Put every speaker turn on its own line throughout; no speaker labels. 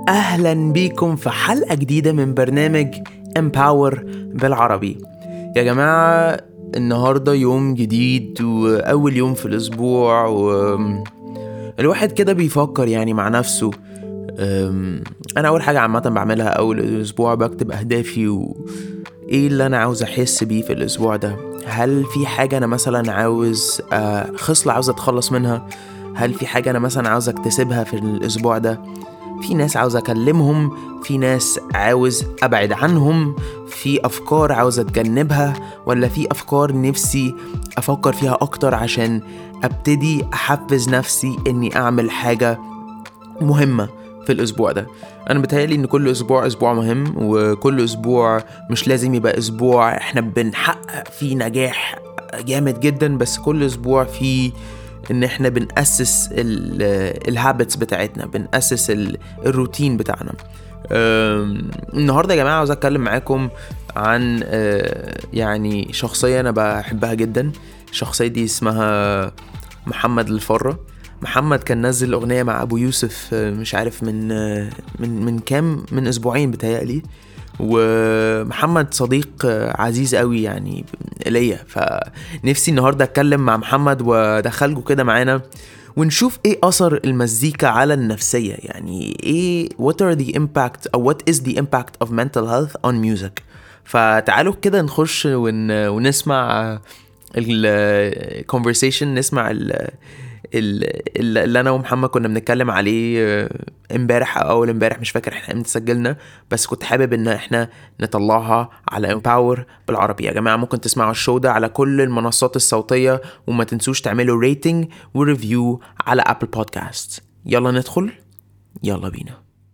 أهلا بيكم في حلقة جديدة من برنامج Empower بالعربي. يا جماعة النهاردة يوم جديد وأول يوم في الأسبوع، والواحد كده بيفكر يعني مع نفسه. أنا أول حاجة عامة بعملها أول الأسبوع بكتب أهدافي وإيه اللي أنا عاوز أحس بيه في الأسبوع ده. هل في حاجة أنا مثلا عاوز خصلة عاوز أتخلص منها؟ هل في حاجة أنا مثلا عاوز أكتسبها في الأسبوع ده؟ في ناس عاوز أكلمهم، في ناس عاوز أبعد عنهم، في أفكار عاوز أتجنبها، ولا في أفكار نفسي أفكر فيها أكتر عشان أبتدي أحفز نفسي إني أعمل حاجة مهمة في الأسبوع ده. أنا بتهيألي إن كل أسبوع مهم، وكل أسبوع مش لازم يبقى أسبوع إحنا بنحقق فيه نجاح جامد جدا، بس كل أسبوع فيه ان احنا بنأسس الهابتس بتاعتنا، بنأسس الروتين بتاعنا. النهاردة يا جماعة عاوز اتكلم معاكم عن يعني شخصية انا بحبها جدا. الشخصية دي اسمها محمد الفرة. محمد كان نزل اغنية مع ابو يوسف، مش عارف من كام، من اسبوعين بتهيألي. ومحمد صديق عزيز قوي يعني ليا، فنفسي النهارده اتكلم مع محمد وادخلكوا كده معانا ونشوف ايه اثر المزيكا على النفسيه. يعني ايه what are the impact او what is the impact of mental health on music. فتعالوا كده نخش ونسمع ال conversation، نسمع اللي انا ومحمد كنا بنتكلم عليه امبارح او اول امبارح، مش فاكر احنا امتى سجلنا، بس كنت حابب ان احنا نطلعها على امباور بالعربي. يا جماعه ممكن تسمعوا الشو ده على كل المنصات الصوتيه، وما تنسوش تعملوا ريتنج وريفيو على ابل بودكاست. يلا ندخل، يلا بينا.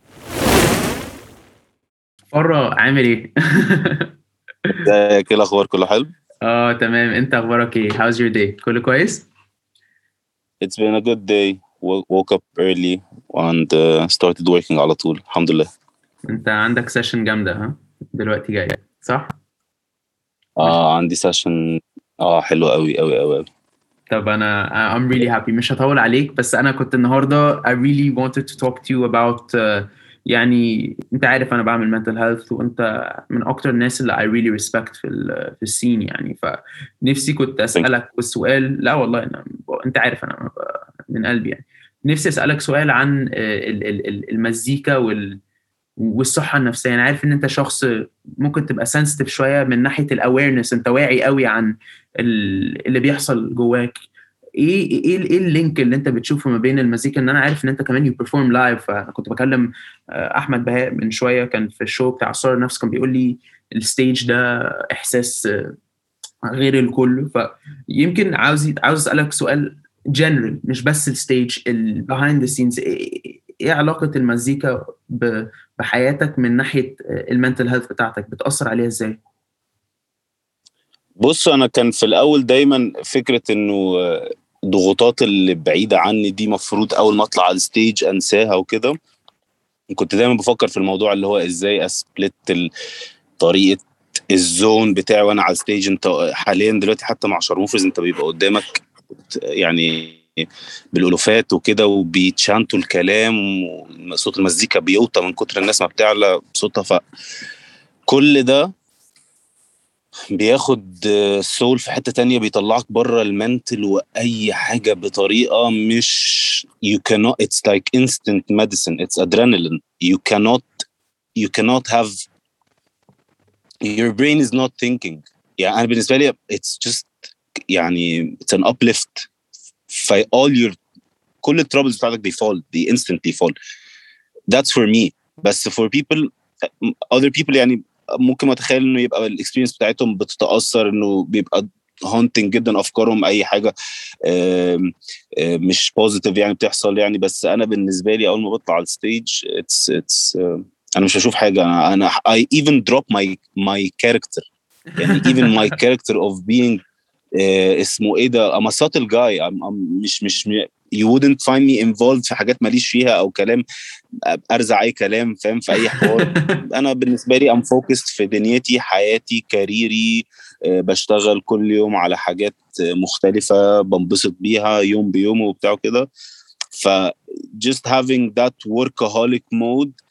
فرة عامل ايه؟
ازيك؟ ايه الاخبار؟ كله حلو.
تمام. انت اخبارك ايه؟ How's your day؟ كله كويس؟
It's been a good day. Woke up early and started working على طول، الحمد لله.
انت عندك سيشن جامدة ها؟ دلوقتي جاي صح؟ مش
عندي سيشن. حلو قوي قوي قوي قوي.
طب انا I'm really happy. مش هطول عليك، بس انا كنت النهاردة I really wanted to talk to you about يعني انت عارف انا بعمل mental health، وانت من اكتر الناس اللي I really respect في السين يعني. فنفسي كنت
Thank you.
اسألك والسؤال، لا والله انت عارف انا من قلبي يعني. نفسي اسألك سؤال عن المزيكا والصحة النفسية. أنا عارف إن أنت شخص ممكن تبقى سنسيتيف شوية من ناحية الأويرنس، أنت واعي قوي عن اللي بيحصل جواك. إيه اللينك اللي أنت بتشوفه ما بين المزيكا؟ إن أنا عارف إن أنت كمان يو بيرفورم لايف. فأنا كنت بكلم أحمد بهاء من شوية، كان في الشو بتاع صار النفس، كان بيقول لي الستيج ده إحساس غير الكل. فيمكن عاوز أسألك سؤال جنرال، مش بس الستيج، البيهايند ذا سينز. ايه علاقة المزيكا بحياتك من ناحية المنتل هيلث بتاعتك؟ بتأثر عليها ازاي؟
بص، انا كان في الاول دايما فكرة انه ضغوطات اللي بعيدة عني دي مفروض اول ما اطلع على الستيج انساها وكده. كنت دايما بفكر في الموضوع اللي هو ازاي اسبلت طريقة الزون بتاعي وانا على الستيج. انت حاليا دلوقتي حتى مع شارموفرز انت بيبقى قدامك يعني بالالوفات وكده، وبيتشانتوا الكلام، وصوت المزيكا بيوطى من كتر الناس ما بتعلى صوتها. فكل ده بياخد السول في حتة تانية، بيطلعك بره المنتل واي حاجة بطريقة مش you cannot. it's like instant medicine. it's adrenaline. you cannot have your brain is not thinking. يعني أنا بالنسبة لي it's just يعني it's an uplift. all your كل الترابلز بتاعتك they instantly fall. that's for me. بس for people other people يعني ممكن ما اتخيل انه يبقى الاكسبيرينس بتاعتهم بتتاثر، انه بيبقى هونتنج جدا افكارهم، اي حاجه مش بوزيتيف يعني بتحصل يعني. بس انا بالنسبه لي اول ما بطلع على الستيج it's انا مش هشوف حاجه. انا I even drop my character. يعني even my character of being اسمه ايه ده I'm a subtle guy. مش you wouldn't find me involved في حاجات ماليش فيها او كلام ارزع اي كلام، فاهم، في اي حوار. انا بالنسبه لي I'm focused في دنيتي، حياتي، كاريري. بشتغل كل يوم على حاجات مختلفه بنبسط بيها يوم بيوم وبتاع كده. ف just having that workaholic mode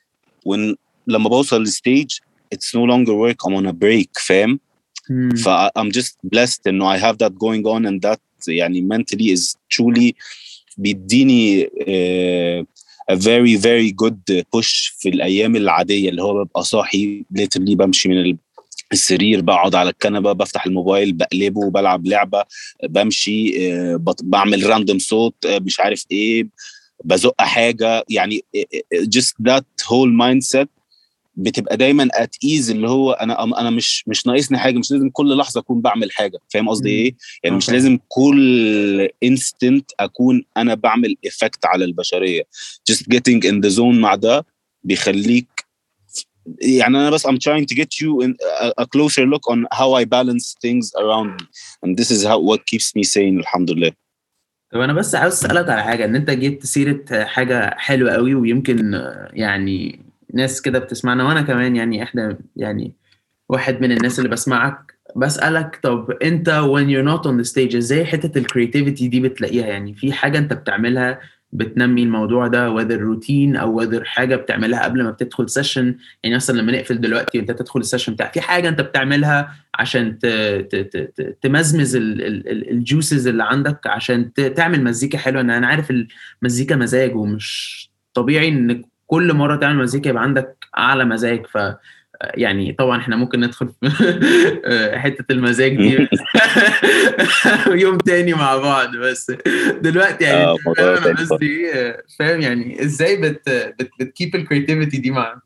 لما بوصل للستيج it's no longer work, I'm on a break, فاهم؟ I'm just blessed انه I have that going on, and that يعني mentally is truly بيديني a very very good push في الأيام العادية اللي هو ببقى صاحي literally بمشي من السرير، بقعد على الكنبة، بفتح الموبايل، بقلبه، بلعب لعبة، بمشي، بعمل راندوم صوت، مش عارف ايه، بزق حاجة، يعني just that whole mindset بتبقى دايما at ease، اللي هو انا مش ناقصني حاجه، مش لازم كل لحظه اكون بعمل حاجه، فاهم قصدي ايه؟ يعني مش لازم كل instant اكون انا بعمل effect على البشريه. just getting in the zone مع ده بيخليك، يعني انا بس I'm trying to get you in a closer look on how I balance things around me, and this is what keeps me sane الحمد لله.
طب انا بس عاوز اسالك على حاجه، ان انت جبت سيره حاجه حلوه قوي، ويمكن يعني ناس كده بتسمعنا وانا كمان، يعني احنا يعني واحد من الناس اللي بسمعك، بسالك طب انت when you're not on the stage ازاي حته الكرياتيفيتي دي بتلاقيها؟ يعني في حاجه انت بتعملها بتنمي الموضوع ده، whether روتين او whether حاجه بتعملها قبل ما بتدخل سيشن؟ يعني مثلا لما نقفل دلوقتي وانت تدخل السيشن بتاعك، في حاجه انت بتعملها عشان تمزمز الجوسز اللي عندك عشان تعمل مزيكا حلوه؟ انا عارف المزيكا مزاج، ومش طبيعي ان كل مره تعمل مزيكا يبقى عندك اعلى مزاج. ف يعني طبعا احنا ممكن ندخل في حته المزاج دي يوم تاني مع بعض، بس دلوقتي يعني انا قصدي فاهم يعني ازاي بتكيب الكرياتيفيتي دي معاك؟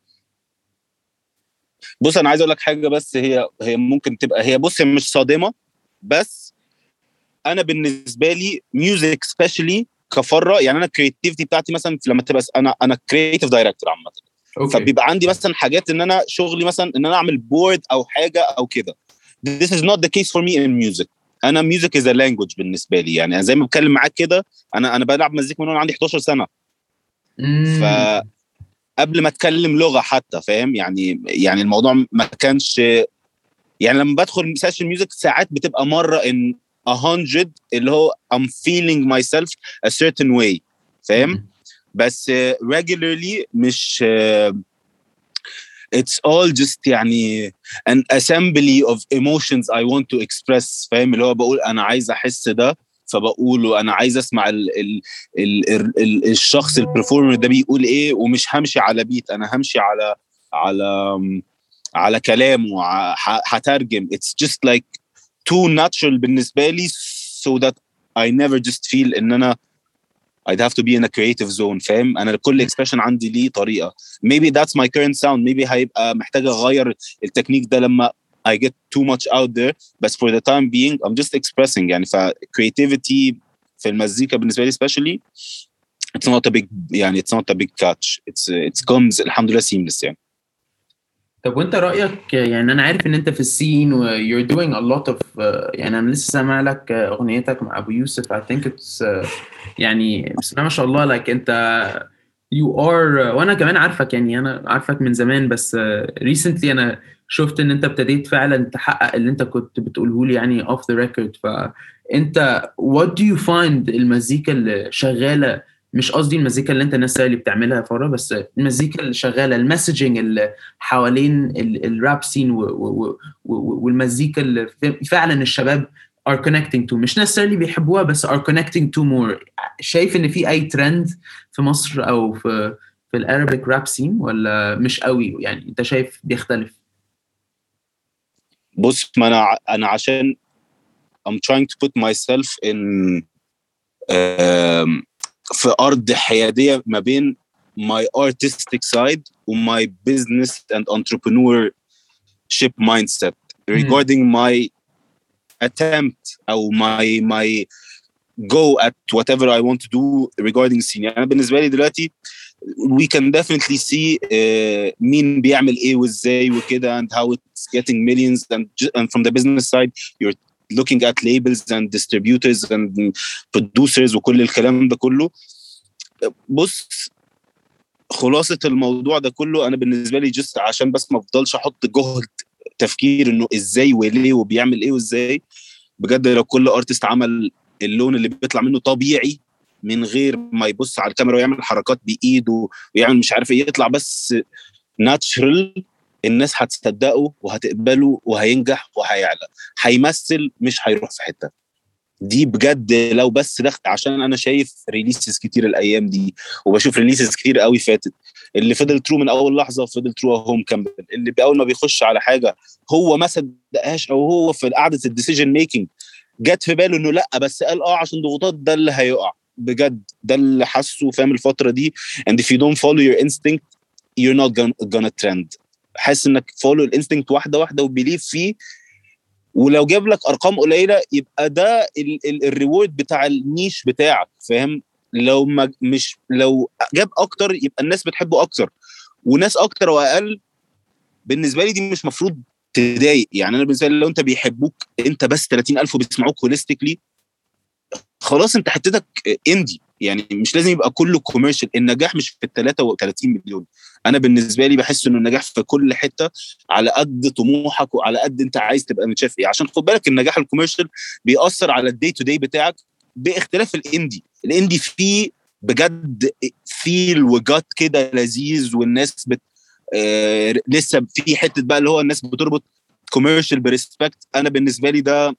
بص انا عايز اقول لك حاجه، بس هي ممكن تبقى هي، بص هي مش صادمه، بس انا بالنسبه لي ميوزك سبيشالي كفره، يعني انا الكرياتيفيتي بتاعتي مثلا لما تبقى انا كرياتيف دايركتور عامه، فبيبقى عندي مثلا حاجات ان انا شغلي مثلا ان انا اعمل بورد او حاجه او كده. This is not the case for me in music. انا music is a language بالنسبه لي، يعني زي ما بتكلم معاك كده، انا بلعب مزيكا من وانا عندي 11 سنه. فقبل ما اتكلم لغه حتى، فاهم يعني الموضوع ما كانش، يعني لما بدخل سيشن ميوزك ساعات بتبقى مره ان 100 اللي هو I'm feeling myself a certain way، فاهم؟ بس regularly مش it's all just يعني an assembly of emotions I want to express، فاهم؟ اللي هو بقول أنا عايز أحس ده فبقوله، أنا عايز أسمع الشخص البرفورمر ده بيقول إيه، ومش همشي على بيت، أنا همشي على كلامه، هترجم. it's just like too natural بالنسبة لي so that I never just feel إن أنا I'd have to be in a creative zone، فاهم؟ أنا كل expression عندي ليه طريقة. Maybe that's my current sound. Maybe هيبقى محتاج أغير التكنيك ده لما I get too much out there. But for the time being I'm just expressing. يعني creativity في المزيكا بالنسبة لي especially it's not a big يعني it's not a big catch. It comes الحمد لله seamless يعني.
طب وانت رأيك، يعني انا عارف ان انت في السين و you're doing a lot of يعني انا لسه سامع لك اغنيتك مع ابو يوسف. I think it's يعني بسم الله ما شاء الله لك انت you are، وانا كمان عارفك، يعني انا عارفك من زمان، بس recently انا شفت ان انت ابتديت فعلا تحقق اللي انت كنت بتقوله لي يعني off the record. فانت what do you find المزيكا اللي شغالة؟ مش قصدي المزيكا اللي انت الناس اللي بتعملها فورا، بس المزيكا اللي شغاله، المسجنج اللي حوالين الراب سين والمزيكا اللي فعلا الشباب are connecting to، مش necessarily بيحبوها بس are connecting to more. شايف ان في اي ترند في مصر او في الارابيك راب سين، ولا مش قوي؟ يعني انت شايف بيختلف؟
بص ما انا عشان I'm trying to put myself in في أرض حيادية ما بين my artistic side و my business and entrepreneurship mindset regarding my attempt أو my go at whatever I want to do regarding scene. يعني بالنسبة لي دلوقتي we can definitely see مين بيعمل ايه وازاي وكده and how it's getting millions, and from the business side you're looking at labels and distributors and producers وكل الكلام ده كله. بص خلاصة الموضوع ده كله انا بالنسبة لي just عشان بس ما افضلش احط جهد تفكير انه ازاي وليه وبيعمل ايه وازاي، بجد لو كل ارتست عمل اللون اللي بيطلع منه طبيعي من غير ما يبص على الكاميرا ويعمل حركات بايده ويعمل مش عارف ايه، يطلع بس ناتشرال الناس هتصدقه وهتقبله وهينجح وهيعلى. هيمثل مش هيروح في حتة دي بجد. لو بس دخل عشان انا شايف ريليسز كتير الايام دي وبشوف ريليسز كتير قوي فاتت اللي فضل ترو من اول لحظه فضل ترو هوم كامبل اللي باول ما بيخش على حاجه هو ما صدقهاش او هو في قعده الديسيجن ميكنج جت في باله انه لا بس قال عشان ضغوطات ده اللي هيقع بجد. ده اللي حاسه فاهم الفتره دي. and if you don't follow your instinct you're not gonna trend. حاسس انك follow الانستنكت واحده واحده وبيليف فيه ولو جاب لك ارقام قليله يبقى ده الريورد بتاع النيش بتاعك فاهم. لو ما مش لو جاب اكتر يبقى الناس بتحبه اكتر وناس اكتر واقل بالنسبه لي دي مش مفروض تضايق. يعني انا بالنسبه لي لو انت بيحبوك انت بس 30,000 وبيسمعوك هوليستيكلي خلاص انت حتتك اندي. يعني مش لازم يبقى كله كوميرشال. النجاح مش في 33 مليون. انا بالنسبه لي بحس انه النجاح في كل حته على قد طموحك وعلى قد انت عايز تبقى متشاف ايه. عشان خد بالك النجاح الكوميرشال بيأثر على الدي تو دي بتاعك باختلاف الاندي فيه بجد فيل وجات كده لذيذ والناس لسه في حته بقى اللي هو الناس بتربط كوميرشال بريسبكت. انا بالنسبه لي ده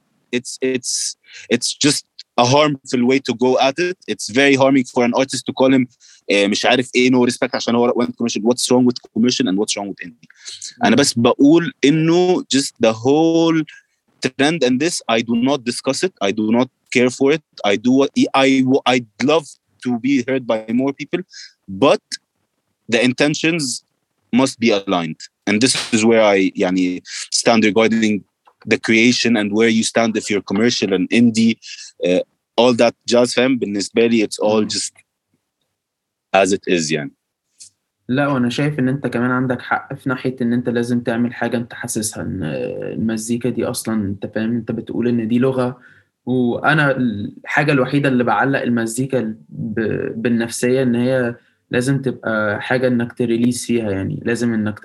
it's just a harmful way to go at it. It's very harming for an artist to call him مش عارف ايه no respect عشان هو went commercial. What's wrong with commercial and what's wrong with indie. أنا بس بقول إنه just the whole trend and this I do not discuss it. I do not care for it. I'd love to be heard by more people, but the intentions must be aligned. And this is where I يعني stand regarding the creation and where you stand if you're commercial and indie, all that jazz fam بالنسبة لي it's all just as it is يعني.
لا وانا شايف ان انت كمان عندك حق في ناحية ان انت لازم تعمل حاجة انت حاسسها ان المزيكا دي اصلا انت فاهم انت بتقول ان دي لغة. وانا الحاجة الوحيدة اللي بعلق المزيكا بالنفسية ان هي لازم تبقى حاجة انك تريليس فيها. يعني لازم انك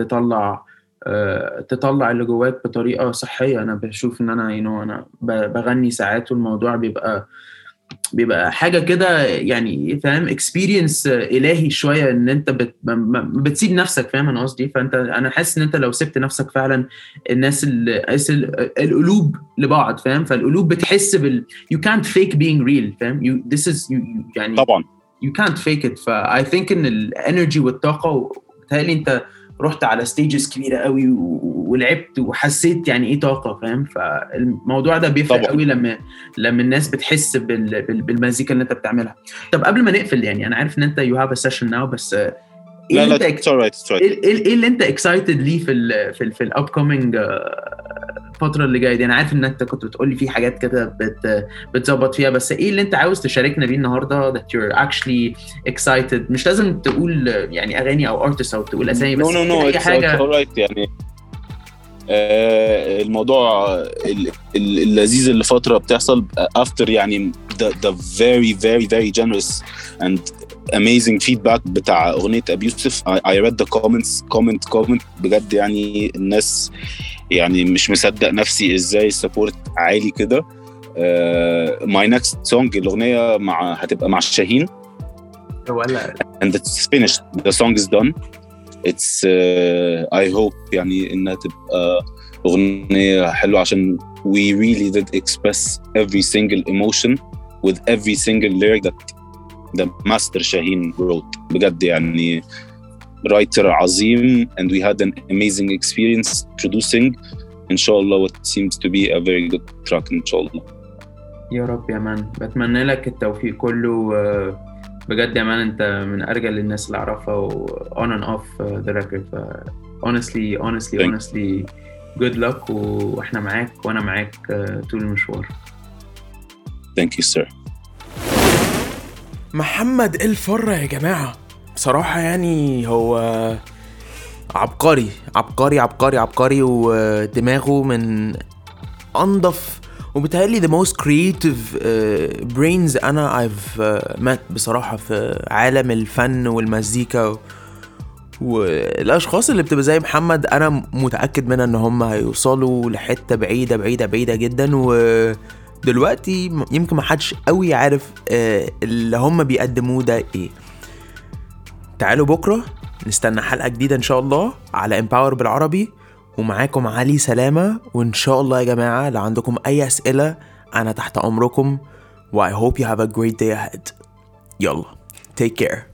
تطلع اللي جواك بطريقة صحية. أنا بشوف إن أنا أنا بغني ساعات والموضوع بيبقى حاجة كده يعني فاهم experience إلهي شوية إن أنت بتسيب نفسك فاهم أنا قصدي. أنا حاسس إن أنت لو سبت نفسك فعلا الناس القلوب لبعض فاهم. فالقلوب بتحس you can't fake being real فاهم. this is يعني
طبعا
you can't fake it. I think إن الانرجي والطاقة بتهيألي أنت رحت على ستيجز كبيرة قوي ولعبت وحسيت يعني ايه طاقة فاهم. فالموضوع ده بيفرق قوي لما الناس بتحس بالمزيكا اللي انت بتعملها. طب قبل ما نقفل يعني انا عارف ان انت you have a session now بس ايه اللي انت excited ليه في ال upcoming الفترة اللي جاية دي. انا عارف ان انت كنت بتقولي في حاجات كده بتظبط فيها بس ايه اللي انت عاوز تشاركنا بيه النهاردة that you're actually excited. مش لازم تقول يعني اغاني او artist او تقول اسامي بس
اي حاجة alright يعني. الموضوع اللذيذ اللي فترة بتحصل after يعني the very very very generous and amazing feedback بتاع أغنية أبي يوسف. I read the comment بجد يعني الناس يعني مش مصدق نفسي ازاي السبورت عالي كده. my next song الأغنية هتبقى مع شاهين and it's finished. the song is done. it's I hope يعني إنها تبقى أغنية حلوة عشان we really did express every single emotion with every single lyric that the master Shaheen wrote. بجد يعني writer عظيم and we had an amazing experience producing إن شاء الله what seems to be a very good track إن شاء الله.
يا رب يا مان. بتمنى لك التوفيق كله بجد يا مان. انت من ارجل الناس اللي اعرفها on and off the record. honestly good luck واحنا معاك وانا معاك طول المشوار.
Thank you sir.
محمد الفرة يا جماعة بصراحة يعني هو عبقري ودماغه من أنظف وبتهيألي the most creative brains أنا I've met بصراحة في عالم الفن والمزيكا. والأشخاص اللي بتبقى زي محمد أنا متأكد منها إن هم هيوصلوا لحتة بعيدة جدا. ودلوقتي يمكن ما حدش قوي عارف اللي هم بيقدموه ده إيه. تعالوا بكرة نستنى حلقة جديدة إن شاء الله على Empower بالعربي، ومعاكم علي سلامة. وإن شاء الله يا جماعة لو عندكم أي أسئلة أنا تحت أمركم. و I hope you have a great day ahead. يلا take care.